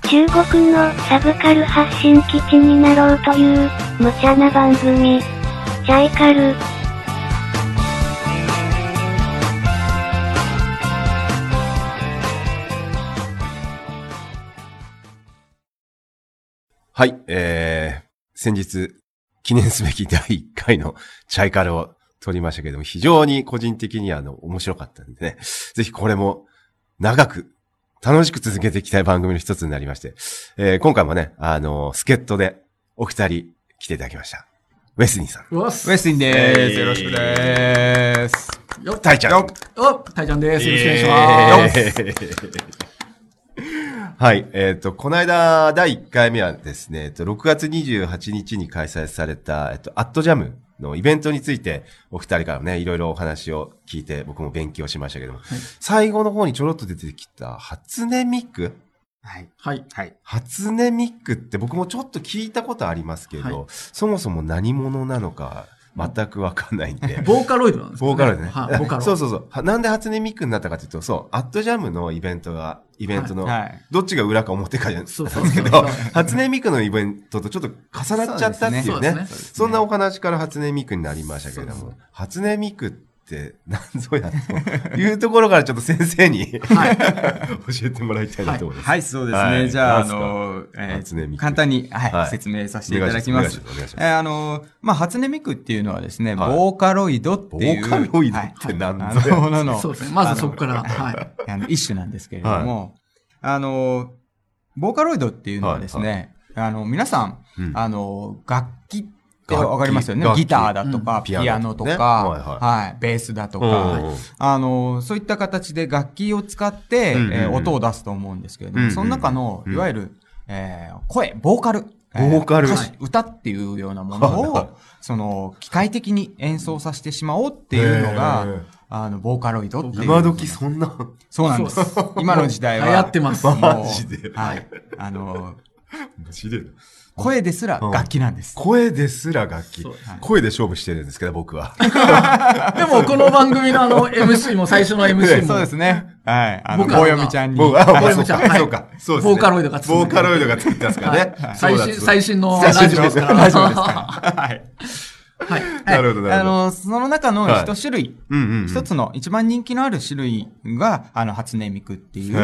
中国のサブカル発信基地になろうという、無茶な番組。チャイカル。 はい、先日、記念すべき第1回のチャイカルを撮りましたけども、非常に個人的には面白かったんでね、ぜひこれも長く、楽しく続けていきたい番組の一つになりまして、今回もね、助っ人でお二人来ていただきました。ウェスニーさん。 ウェスニーです。よろしくです。 タイちゃん。 タイちゃんです。よろしくお願いします。 はい。この間、第1回目はですね、6月28日に開催された、アットジャムのイベントについて、お二人からね、いろいろお話を聞いて、僕も勉強しましたけども、はい、最後の方にちょろっと出てきた、初音ミク。 はい。はい。はい。 初音ミクって僕もちょっと聞いたことありますけど、はい、そもそも何者なのか、全くわかんないんで。 ボーカロイドなんですかね。 ボーカロイドね。 ボーカロイド。 そうそうそう。なんで初音ミクになったかというと、そう、アットジャムのイベントの、どっちが裏か表かじゃないですけど、初音ミクのイベントとちょっと重なっちゃったっていうね。そんなお話から初音ミクになりましたけれども、初音ミクって何ぞやというところからちょっと先生に、はい、教えてもらいたいなと思います。 はい、そうですね。はい、じゃあ、簡単に、はい、説明させていただきます。初音ミクっていうのはですね、ボーカロイドっていう。 ボーカロイドって何ぞや。 そうですね。まずそこから、はい。 一種なんですけれども、ボーカロイドっていうのはですね、皆さん、楽器ってわかりますよね。ギターだとか、ピアノとか、はい、ベースだとか、そういった形で楽器を使って、音を出すと思うんですけれども、その中の、いわゆる、声、ボーカル。歌っていうようなものを、機械的に演奏させてしまおうっていうのが、ボーカロイドっていう。 今時そんな。 そうなんです。今の時代は。 流行ってます。 マジで。 はい。 マジで。 声ですら楽器なんです。 声ですら楽器。声で勝負してるんですけど、僕は。 でも、この番組のMC も最初の MC も。 そうですね。はい。棒読みちゃんに。 棒読みちゃん。そうか。そうですね。 ボーカロイドがボーカロイドがついてますからね。 最新のラジオですから。 ラジオですから。はい。 はい。なるほど、なるほど。 その中の一種類、一つの一番人気のある種類が、初音ミクっていう、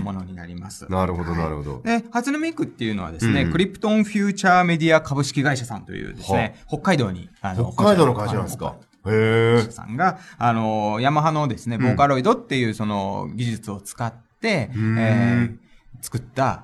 ものになります。 なるほど、なるほど。 で、初音ミクっていうのはですね、クリプトンフューチャーメディア株式会社さんというですね、北海道に、 北海道の会社なんですか。へさんが、ヤマハのですね、ボーカロイドっていうその技術を使って、作った、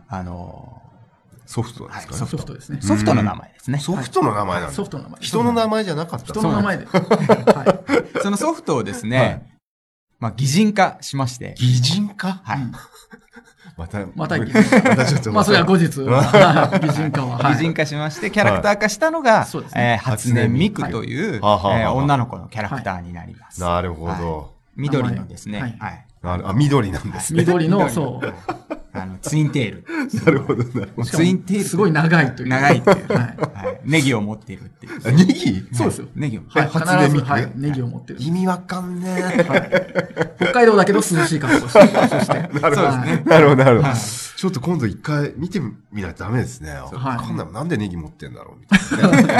ソフトですかね。 ソフトですね。 ソフトの名前ですね。 ソフトの名前なんだ。 ソフトの名前。 人の名前じゃなかった。 人の名前で。 そのソフトをですね、擬人化しまして。 擬人化はい。 また擬人化。 ちょっと。 まあ、それは後日。擬人化は。 擬人化しまして、キャラクター化したのが、初音ミクという、女の子のキャラクターになります。 なるほど。 緑のですね。 はい。緑なんですね。 緑の、そう。 ツインテール。 なるほど、なるほど。 ツインテール。 すごい長いという。 長いっていう。ネギを持っているっていう。 ネギそうですよ。 ネギを。 はい、初音ミク。はい、ネギを持ってる。 意味わかんねえ。 北海道だけど涼しい格好して。そして。 なるほど。なるほど、なるほど。ちょっと今度一回見てみないとダメですね。わかんない。なんでネギ持ってんだろうみたい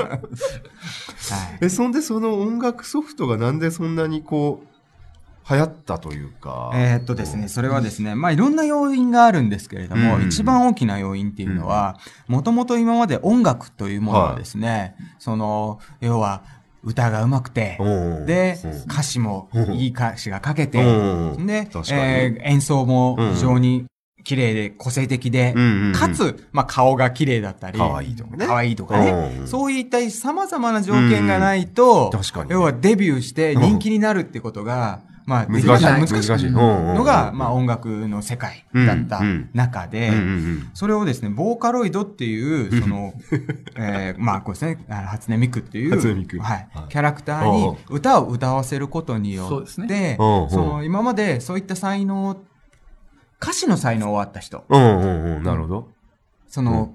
な。そんでその音楽ソフトがなんでそんなにこう、流行ったというか。 ですね、それはですね、いろんな要因があるんですけれども、一番大きな要因っていうのは、もともと今まで音楽というものはですね、要は、歌が上手くて、で、歌詞もいい歌詞が書けて、で、演奏も非常に綺麗で個性的で、かつ、顔が綺麗だったり、可愛いとかね。そういった様々な条件がないと、要はデビューして人気になるってことが、難しいのが、音楽の世界だった中で、それをですね、ボーカロイドっていう、こうですね、初音ミクっていう、キャラクターに歌を歌わせることによって、今までそういった才能、歌詞の才能はあった人。 なるほど。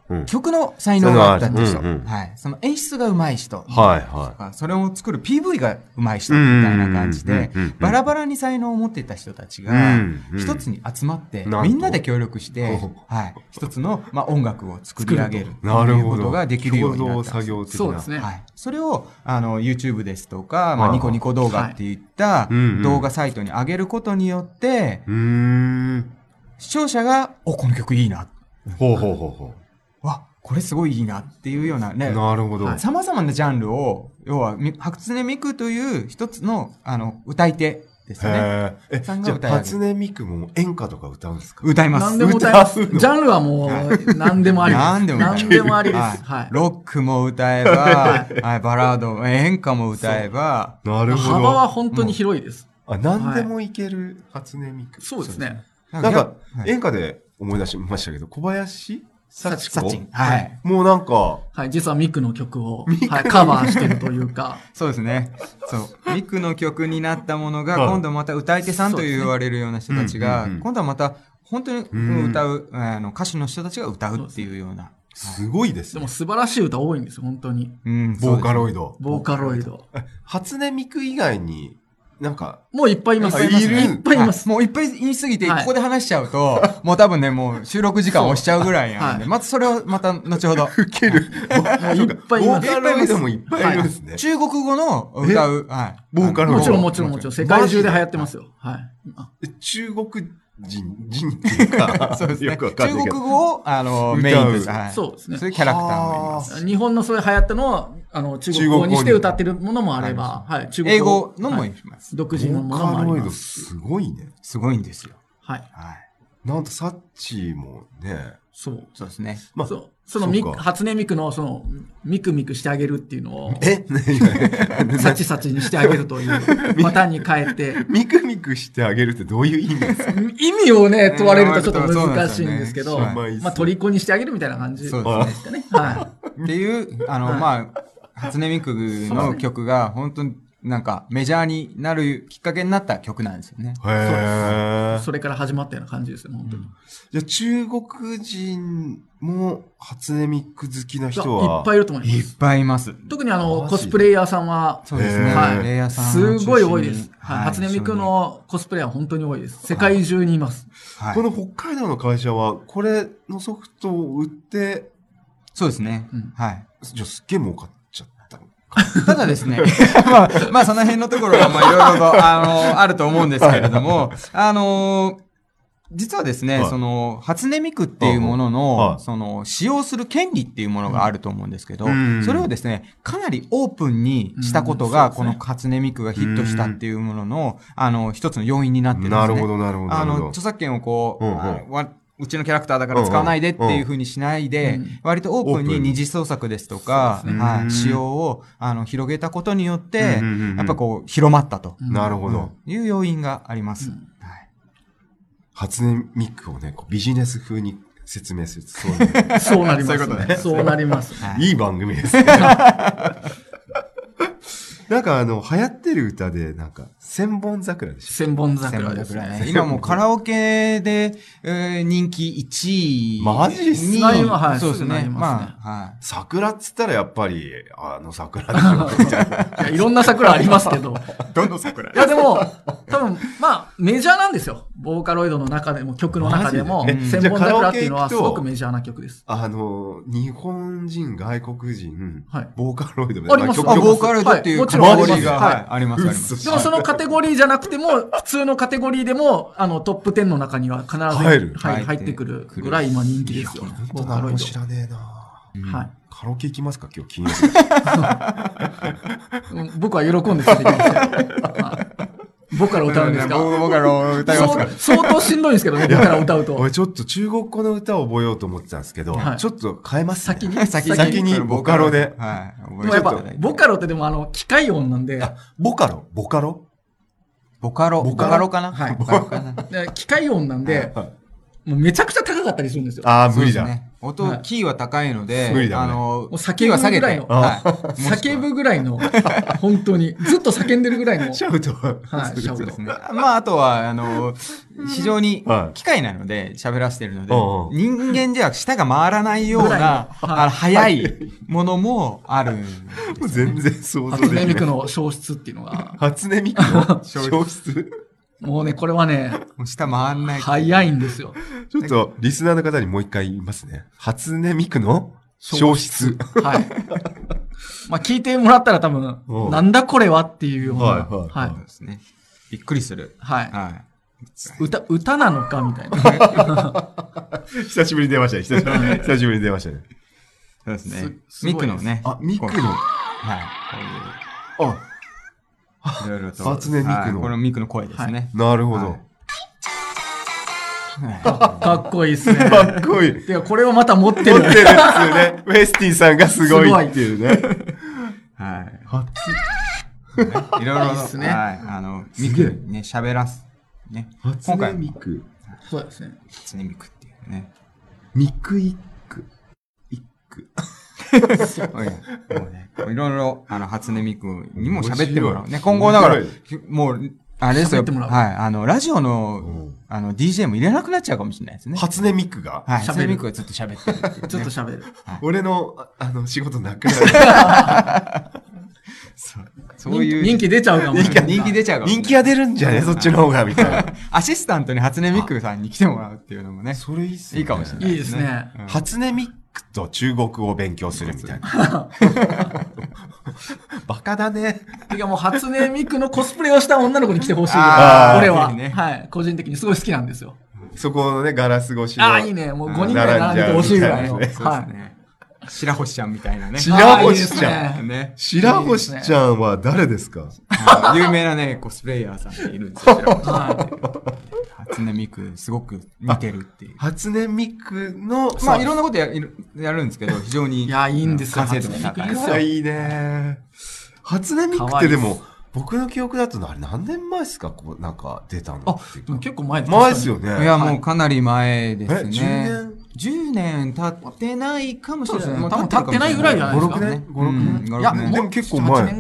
曲の才能があったって人、 うんうんはい。その演出が上手い人、 はいはそれを作る PV が上手い人みたいな感じでうんうんうんうん、 バラバラに才能を持っていた人たちがうんうん、 一つに集まって、 なんとみんなで協力してほう、 はい。一つの、音楽を作り上げる。 い。なるというほど。 ことができるようにな共同った。 作業的な。 そうですね。 はい。それを、YouTube ですとか、 はいニコニコ動画っていったうんうん動画サイトに上げることによって、 ん。 視聴者が、この曲いいな。 ほうほうほうほわ、これすごいいいなっていうようなねう。、なるほど。 様々なジャンルを、要は、初音ミクという一つの、歌い手ですよね。さんじゃあ、 が歌い上げる初音ミクも演歌とか歌うんですか？ 歌います。 何でも歌います。 歌うのジャンルはもう、何でもありです。 何でも何でもありです。 はいはい。 ロックも歌えば、はい、バラード、演歌も歌えば、 なるほど。 幅は本当に広いです。 何でもいける初音ミク。 そうですね。 なんか、 はい演歌で思い出しましたけど、小林幸子サチン。はい。 もうなんか、 はい。実はミクの曲を、はい、カバーしてるというか。 そうですね。そう。ミクの曲になったものが、 はい今度また歌い手さんと言われるような人たちが、 うんうんうん今度はまた、本当に歌う、歌手の人たちが歌うっていうような。 すごいですねでも。素晴らしい歌多いんですよ、本当に。 うんボーカロイド。 ボーカロイド。 初音ミク以外に、なんか、 もういっぱいいます。 いっぱいいますねいっぱいいます。 もういっぱい言いすぎて、 はいここで話しちゃうと、もう多分ね、もう収録時間押しちゃうぐらいなんで、 はいまずそれをまた後ほど。 受ける。 もういっぱいいます。 ボーカロイドもいっぱいいるんですね。 中国語の歌う、はい。 ボーカロイドもちろんもちろんもちろん。世界中で流行ってますよ。はい。 中国人っていうか、 そうですね。 よくわかん中ないけど。 国語をメインです。はい。 そうですねそういうキャラクターもいます。 日本のそういう流行ったのを、中国語にして歌ってるものもあれば、はい。中国英語のもいます。 独自のものもありボーカロイドます。 すごいね。 すごいんですよ。 はい。 はい。 なんとサッチーもね、 そう。 そうですね。 まあ、 そう。そのそうか初音ミクの、ミクミクしてあげるっていうのを、 えサチサチにしてあげるというパターンに変えて、 ミクミクしてあげるってどういう意味ですか？ 意味をね、問われるとちょっと難しいんですけど、 そうなんですよねまあ、虜にしてあげるみたいな感じですそうかですね。はっていう、初音ミクの曲が、本当になんかメジャーになるきっかけになった曲なんですよね。 へい。それから始まったような感じですよ、本当に。 じゃあ中国人も初音ミク好きな人は、 いっぱいいると思いまいっす。 ぱいいます。 特にマジコスプレイヤーさんは、 そうですね。 はいレイヤーさんをす中心にごい多いです。はい。 はい初音ミクのコスプレイヤーは本当に多いです。世界中にいます。 はいこの北海道の会社は、これのソフトを売って、 そうですねうん。 はい。 じゃあすっげえ儲かっちゃったの。 ただですね、まあその辺のところはまあいろいろと、あると思うんですけれども、実はですね、 はいその、初音ミクっていうものの、 はいその、使用する権利っていうものがあると思うんですけど、 うんそれをですね、かなりオープンにしたことが、 うんそうですねこの初音ミクがヒットしたっていうものの、一つの要因になってるんですね。 なるほど、なるほど。なるほど著作権をこう、 うんうんうちのキャラクターだから使わないでっていう風にしないで、 うん割とオープンオープンにに二次創作ですとか、 そうですねはい、使用を広げたことによって、 うんうんうんうんやっぱこう広まったとうんなるほど。 いう要因があります。 うんはい初音ミクをね、こうビジネス風に説明すると、そういうそうなりますそういうことね。 そうなります。 はいいい番組ですね。なんか流行ってる歌で、なんか、千本桜でし千本桜です千本桜ね。 ね今もうカラオケで、人気1位。 マジっすにかはいそうですね。 すぐなりますねまあ、はい。 た。桜っつったらやっぱり、桜でしょ、みたいな。 いやいろんな桜ありますけど。 どの桜いやでも、多分、まあ、メジャーなんですよ。ボーカロイドの中でも、曲の中でも、 マジで千本桜っていうのはすじゃあカラオケ行くとごくメジャーな曲です。 日本人、外国人、 はいボーカロイドありますあ、 曲ボーカロイドっていうはいカテゴリーが、 もちろんはい、あります、あります。 嘘でもそのカテゴリーじゃなくても、普通のカテゴリーでも、トップ10の中には必ず入るはい入ってくるぐらい今人気ですよ。ボーカロイド。 知らねえなはい。 カラオケ行きますか今日金曜日。 うん僕は喜んで連れてきましたよ。はい僕から歌うんですか僕から歌いますか相当しんどいんですけどね、僕から歌うと。 俺ちょっと中国語の歌を覚えようと思ってたんですけど、 はいちょっと変えますね。 先に先にボカロで。 はい。 でもやっぱ覚えていただい、てボカロってでも機械音なんで、 ボカロボカロボカロかなはいボカロかなで機械音なんで、 はいもうめちゃくちゃ高かったりするんですよ。 ああ、無理だ。 そうですねキーは高いので、 無理だねもう叫ぶぐらいの、叫ぶぐらいの、本当に、ずっと叫んでるぐらいの。 シャウト。 はい、シャウト。 ですね。まあ、あとは、非常に機械なので喋らせてるので、人間では舌が回らないような、速いものもあるんですね。 全然想像できない。 初音ミクの消失っていうのが。 初音ミクの消失もうね、これはね、 舌回んない。 早いんですよ。 ちょっと、リスナーの方にもう一回言いますね。初音ミクの消失。 はい。まあ、聞いてもらったら多分、なんだこれはっていうような。 はい。 そうですね。びっくりする。 はい。歌なのかみたいな。 久しぶりに出ましたね。久しぶりに出ましたね。 そうですね。ミクのね。 ミクの。 はい。こういう。いろいろと。 初音ミクの。 このミクの声ですね。 なるほど。 かっこいいですね。 かっこいい。 てか、これをまた持ってる。 持ってるっていうね。ウェスティさんがすごいっていうね。 はい。いろいろですね。はい。ミクね、喋らす。ね。 初音ミク。 そうですね。 初音ミクっていうね。ミクイック。 いろいろ、初音ミクにも喋ってもらう。ね、今後だから、もう、あれですよ。はい。ラジオの、DJ も入れなくなっちゃうかもしれないですね。 初音ミクがはい。初音ミクがずっと喋ってる。 ずっと喋る。 俺の、仕事なくなる。 そういう。人気出ちゃうかも。 人気出ちゃうかも。 人気が出るんじゃねそっちの方が、みたいな。 アシスタントに初音ミクさんに来てもらうっていうのもね。 それいいっすね。 いいかもしれない。 いいですね。 初音ミクと中国語を勉強するみたいな。バカだね。 てかもう初音ミクのコスプレをした女の子に来てほしい。俺は。はい。個人的にすごい好きなんですよ。 そこのね、ガラス越しの。 いいね。もう5人ぐらい並んでてほしいぐらいの。はい。 白星ちゃんみたいなね。 白星ちゃん。ね。白星ちゃんは誰ですか？ 有名なね、コスプレイヤーさんっているんですよ。初音ミク、すごく似てるっていう。 初音ミクの、 まあいろんなことやるんですけど、非常に。 いや、いいんですよ。 完成度が高い。いいね。初音ミクってでも、僕の記憶だと何年前ですかなんか出たの。 結構前ですよね。 いや、もうかなり前ですね。 10 年経ってないかもしれない。 多分経ってないぐらいじゃないですか。 5、6年 ?5、6年。 いや、 でも結構前。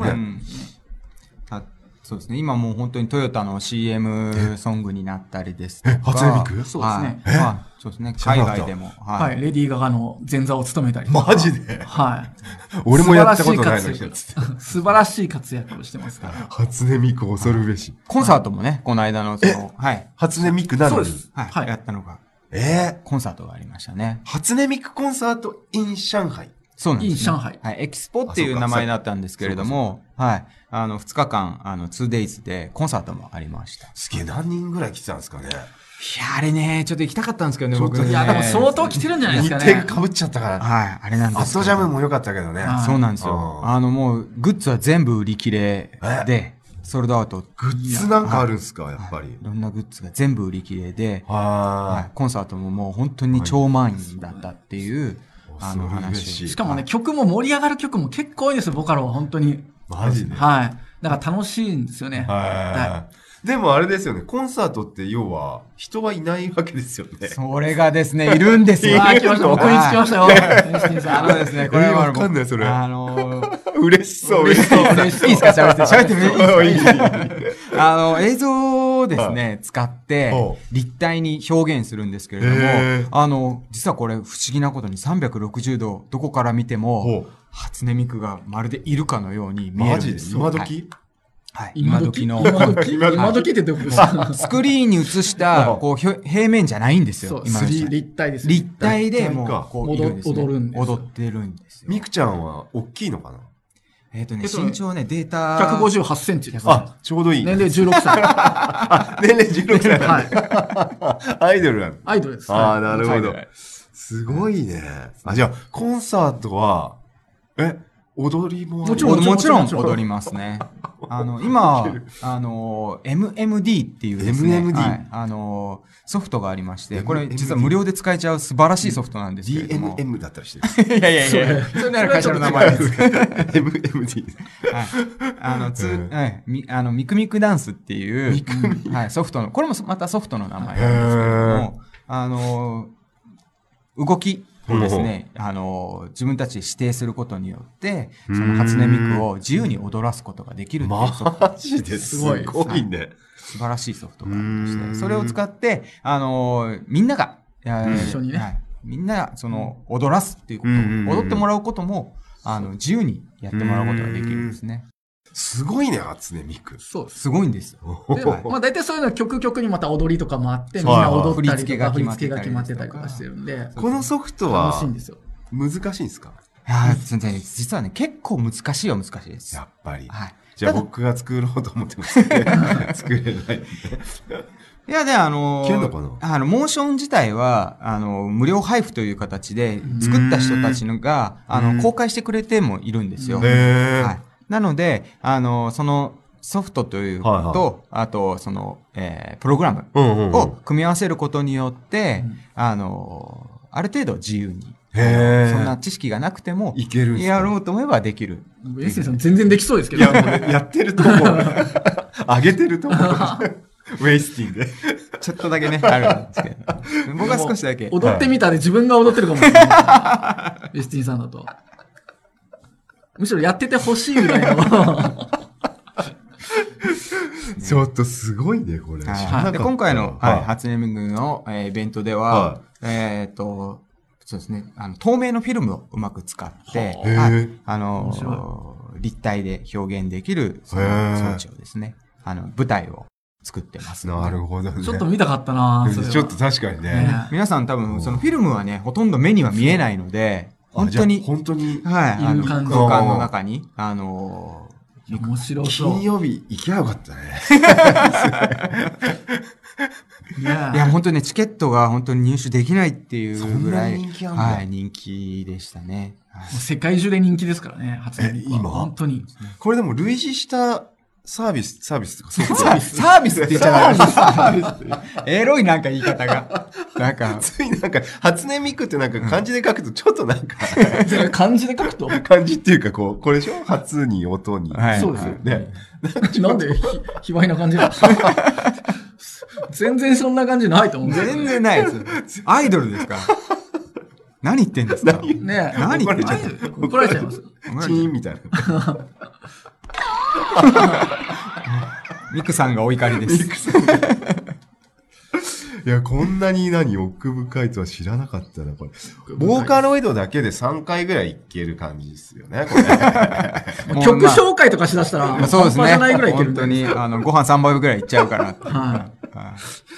そうですね。今もう本当にトヨタの CM ソングになったりですとか。 初音ミク？ そうですね。 そうですね。海外でも。 はい。レディー・ガガの前座を務めたり。 マジで？ はい。 俺もやったことないのに。 素晴らしい活躍をしてますから。 初音ミク恐るべし。 コンサートもね、この間のはい。 初音ミクなのに。 そうです。 はい。やったのが。コンサートがありましたね。 初音ミクコンサート in 上海。 そうなんです。 上海。 はい。エキスポっていう名前だったんですけれども、はい。2日間、2days でコンサートもありました。 すげえ、何人ぐらい来てたんですかね。 いや、あれね、ちょっと行きたかったんですけどね、僕ね。 いや、でも相当来てるんじゃないですかね。 日程が被っちゃったから。 はい、あれなんです。 アットジャムも良かったけどね。 そうなんですよ。もう、グッズは全部売り切れで、ソールドアウト。 グッズなんかあるんですか、やっぱり。 いろんなグッズが全部売り切れで、コンサートももう本当に超満員だったっていう、話。 しかもね、曲も盛り上がる曲も結構多いですよ、ボカロは本当に。 マジで？ はい。だから楽しいんですよね。 はい。でもあれですよね、コンサートって要は人はいないわけですよね。 それがですね、いるんですよ。 来ました、僕につきましたよ。 ですね、これはわかんない、それ。嬉しそう、 嬉しそう。いいですか？喋ってもいいですか？映像をですね、使って、立体に表現するんですけれども、実はこれ不思議なことに360度、どこから見ても、初音ミクがまるでいるかのように見えるんですよ。 マジで？今時？ はい。今時の。 今時ってどこですか？ スクリーンに映した、こう、平面じゃないんですよ。 今立体です。 立体でもう、こう、 踊るんです。 踊ってるんですよ。 ミクちゃんは大きいのかな？ 身長ね、データ。 158センチです。 ちょうどいい。 年齢16歳。 年齢16歳。はい。アイドルなの？ アイドルです。 なるほど。すごいね。じゃあ、コンサートは、踊りももちろん踊りますね。今、MMD っていうですね、ソフトがありまして、これ実は無料で使えちゃう素晴らしいソフトなんですけれども。 DNM だったりしてる。 いや。それなら会社の名前です。 MMD。 はい。ミクミクダンスっていう、はい、ソフトの、これもまたソフトの名前なんですけれども、動きをですね、自分たちで指定することによって、その初音ミクを自由に踊らすことができるっていうソフト。 マジですごいね。 素晴らしいソフトがありまして、それを使って、みんなが、 一緒にね。 みんな、踊らすっていうこと、踊ってもらうことも、自由にやってもらうことができるんですね。 すごいね、初音ミク。 そうです。 すごいんですよ。 で、まあ大体そういうのは曲にまた踊りとかもあって、みんな踊ったりとか、振り付けが決まってたりとかしてるんで。 このソフトは、 楽しいんですよ。 難しいんですか？ 実はね、結構難しいは難しいです。 やっぱり。 はい。 じゃあ僕が作ろうと思ってますね。作れないんで。 いや、で、 いけるのかな？ モーション自体は、無料配布という形で、作った人たちのが、公開してくれてもいるんですよ。はい。なので、そのソフトということと、あと、プログラムを組み合わせることによって、ある程度自由に、そんな知識がなくても、 いけるんですか？ やろうと思えばできる。 エッセンさん全然できそうですけど。 いや、もうやってると思う。上げてると思う。ウェイスティンで。 ちょっとだけね、あるんですけど。僕は少しだけ。 踊ってみたで自分が踊ってるかもしれない。ウェイスティンさんだと。むしろやっててほしいぐらいの。 ちょっとすごいね、これ。 で今回の、初音ミクのイベントでは、そうですね、透明のフィルムをうまく使って、立体で表現できる装置をですね、舞台を作ってます。 なるほどね。 ちょっと見たかったなぁ。 ちょっと確かにね。 皆さん多分、そのフィルムはね、ほとんど目には見えないので、本当に、はい、空間の中に、 面白そう。 金曜日行きゃよかったね。 いや、本当にね、チケットが本当に入手できないっていうぐらい、 はい、 人気でしたね。 世界中で人気ですからね、初音ミクは。 今本当に。 これでも類似したサービスとかサービスって言っちゃダメです。エロいなんか言い方が。なんか。 ついなんか、初音ミクってなんか漢字で書くとちょっとなんか。 漢字で書くと漢字っていうかこう、これでしょ？初に音に。 そうですよね。 なんで卑猥な感じなの？全然そんな感じないと思う。 全然ないです。アイドルですから。何言ってんですか？ ねえ。 何言ってんですか？怒られちゃいます。 チーンみたいな。 ミクさんがお怒りです。 いや、こんなに奥深いとは知らなかったな、これ。ボーカロイドだけで3回ぐらいいける感じですよね、これ。曲紹介とかしだしたら、 そうですね。 半端じゃないぐらいいける。 本当に、ご飯3杯ぐらいいっちゃうから。 はい。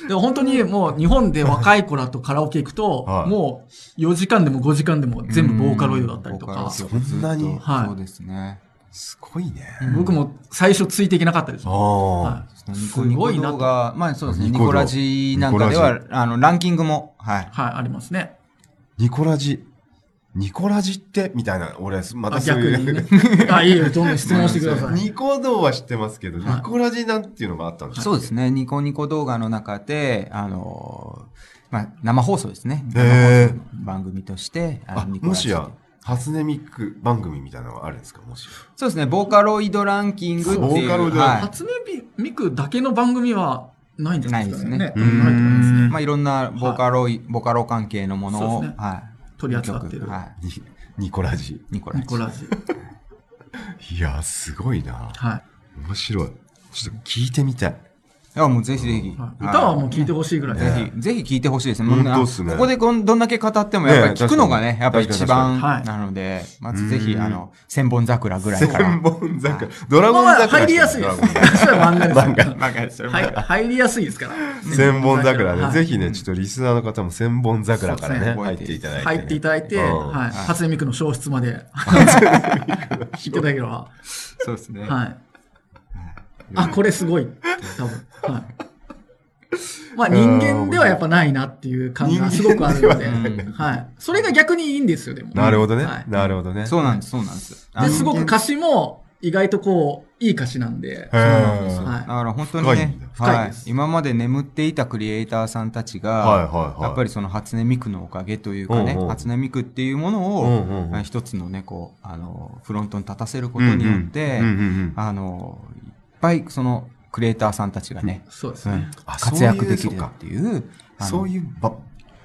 でも本当にもう日本で若い子らとカラオケ行くと、もう4時間でも5時間でも全部ボーカロイドだったりとか。 そんなに。 はい。 そうですね。 すごいね。 僕も最初ついていけなかったです。 はい。すごい動画、まあそうですね。ニコラジなんかでは、ランキングも、はい。 はい、ありますね。 ニコラジってみたいな、俺、またそういう。逆にね。いいよ、どんどん質問してください。 ニコ動は知ってますけど、ニコラジなんていうのがあったんですか？ そうですね。ニコニコ動画の中で、まあ、生放送ですね。番組として、 もしや、初音ミク番組みたいなのがあるんですか？もし。 そうですね。ボーカロイドランキングっていう。ボーカロイドランキング。 初音ミクだけの番組はないんじゃないですかね。ないですね。まあいろんなボーカロ関係のものを、 取り扱ってる。 ニコラジ。 ニコラジ。 いや、すごいな。 はい。 面白い。ちょっと聞いてみたい。 いや、もうぜひぜひ。 歌はもう聞いてほしいぐらい。ぜひ聞いてほしいですね。 本当ですね。 ここでどんだけ語っても、やっぱり聞くのがね、やっぱり一番なので、まずぜひ、千本桜ぐらいから。 千本桜。ドラゴン桜。 入りやすいです。それは漫画です。入りやすいですから。 千本桜ね。ぜひね、ちょっとリスナーの方も千本桜からね、入っていただいて。 入っていただいて、初音ミクの消失まで。聞いていただければ。 そうですね。 はい。これすごい。多分。はい。まあ人間ではやっぱないなっていう感がすごくあるので。はい。それが逆にいいんですよ、でも。 なるほどね。なるほどね。 そうなんです、そうなんです。 で、すごく歌詞も意外とこう、いい歌詞なんで。 そうなんです。だから本当にね、 深いです。 今まで眠っていたクリエイターさんたちが、やっぱりその初音ミクのおかげというかね、初音ミクっていうものを、一つのね、こう、フロントに立たせることによって、いっぱいそのクリエイターさんたちがね、 そうですね。 活躍できるっていう、 そういう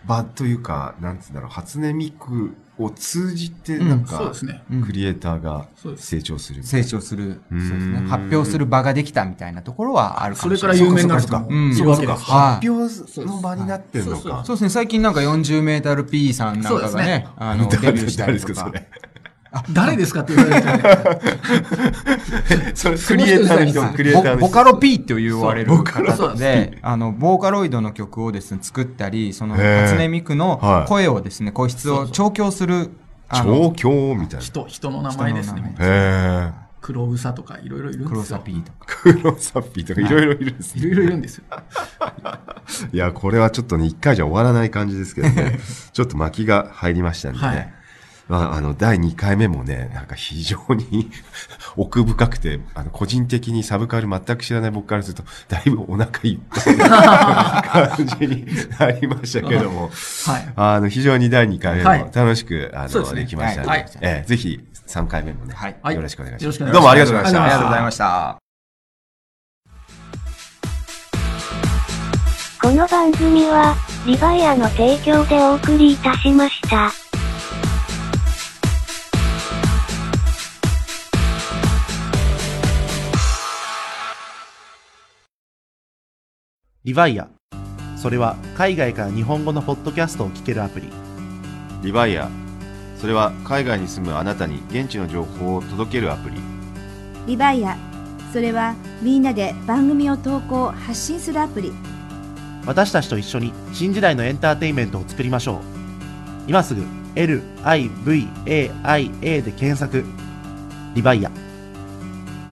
場というか、なんつうんだろう、初音ミクを通じて、なんか、 そうですね。 クリエイターが成長する。 成長する。そうですね。発表する場ができたみたいなところはあるかもしれない。 それから有名になるとか。 そうか。発表の場になってるのか。 そうですね。最近なんか40メートル P さんなんかがね、デビューしたりとか。 誰ですかって言われてそれクリエイターの人、クリエイターの人。 ボカロ P って言われる方で、ボーカロイドの曲をですね、作ったり、その、初音ミクの声をですね、声質を調教する。 調教みたいな。 人の名前ですね。 へー。 黒うさとかいろいろいるんですよ。 黒サピーとか。 黒サピーとかいろいろいるんですね。 いろいろいるんですよ。 いや、これはちょっとね、一回じゃ終わらない感じですけどね。ちょっと巻きが入りましたんでね。はい、まあ、第2回目もね、なんか非常に奥深くて、個人的にサブカル全く知らない僕からすると、だいぶお腹いっぱいな感じになりましたけども、はい、非常に第2回目も楽しく、できましたので、ぜひ3回目もね、よろしくお願いします。どうもありがとうございました。 ありがとうございました。 この番組は、リバイアの提供でお送りいたしました。 リバイア。それは海外から日本語のポッドキャストを聞けるアプリ。 リバイア。それは海外に住むあなたに現地の情報を届けるアプリ。 リバイア。それはみんなで番組を投稿・発信するアプリ。 私たちと一緒に新時代のエンターテインメントを作りましょう。今すぐ LIVAIA で検索。リバイア。